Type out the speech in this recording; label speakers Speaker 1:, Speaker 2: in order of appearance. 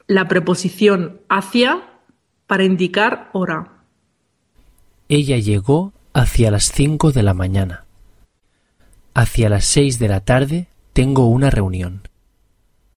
Speaker 1: la preposición hacia para indicar hora.
Speaker 2: Ella llegó hacia las 5 de la mañana. Hacia las 6 de la tarde tengo una reunión.